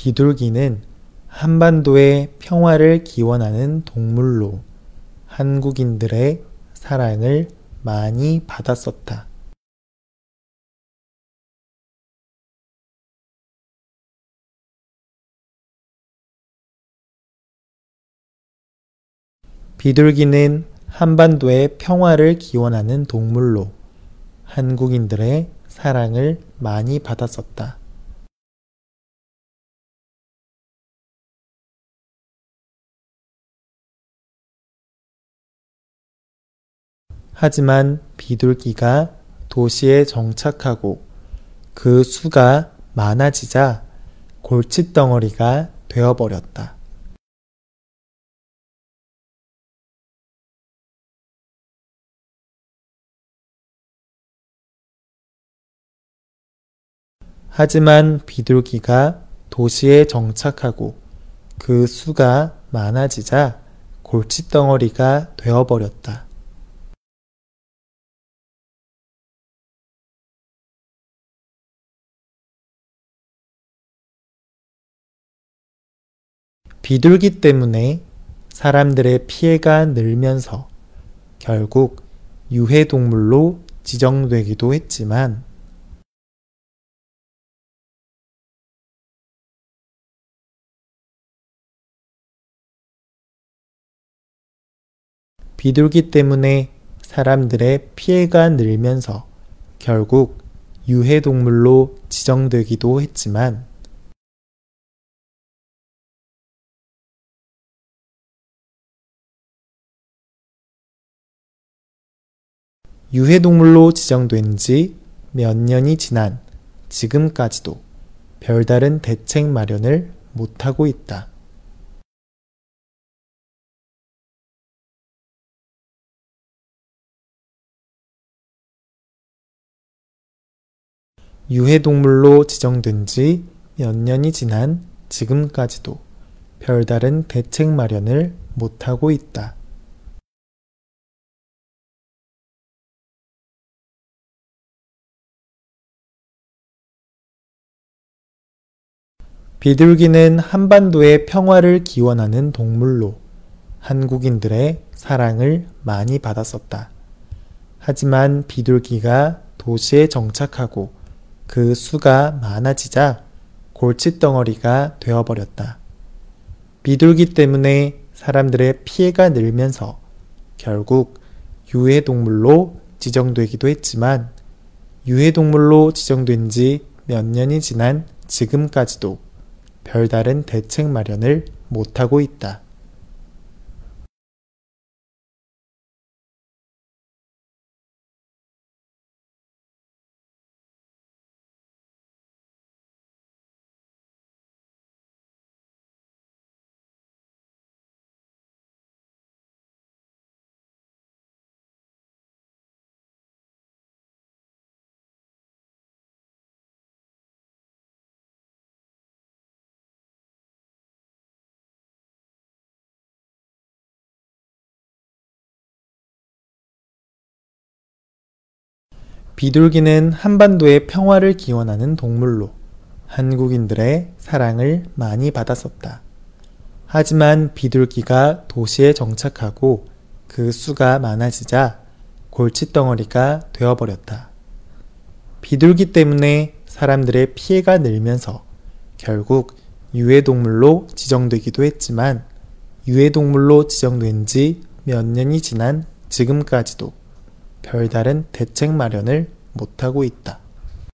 비둘기는 한반도의 평화를 기원하는 동물로 한국인들의 사랑을 많이 받았었다. 비둘기는 한반도의 평화를 기원하는 동물로 한국인들의 사랑을 많이 받았었다. 하지만 비둘기가 도시에 정착하고 그 수가 많아지자 골칫덩어리가 되어버렸다. 하지만 비둘기가 도시에 정착하고 그 수가 많아지자 골칫덩어리가 되어버렸다. 비둘기 때문에 사람들의 피해가 늘면서 결국 유해동물로 지정되기도 했지만 비둘기 때문에 사람들의 피해가 늘면서 결국 유해동물로 지정되기도 했지만 유해동물로 지정된 지 몇 년이 지난 지금까지도 별다른 대책 마련을 못하고 있다. 유해동물로 지정된 지 몇 년이 지난 지금까지도 별다른 대책 마련을 못하고 있다. 비둘기는 한반도의 평화를 기원하는 동물로 한국인들의 사랑을 많이 받았었다. 하지만 비둘기가 도시에 정착하고 그 수가 많아지자 골칫덩어리가 되어버렸다. 비둘기 때문에 사람들의 피해가 늘면서 결국 유해동물로 지정되기도 했지만 유해동물로 지정된 지 몇 년이 지난 지금까지도 별다른 대책 마련을 못하고 있다. 비둘기는 한반도의 평화를 기원하는 동물로 한국인들의 사랑을 많이 받았었다. 하지만 비둘기가 도시에 정착하고 그 수가 많아지자 골칫덩어리가 되어버렸다. 비둘기 때문에 사람들의 피해가 늘면서 결국 유해동물로 지정되기도 했지만 유해동물로 지정된 지 몇 년이 지난 지금까지도 별다른 대책 마련을 못하고 있다.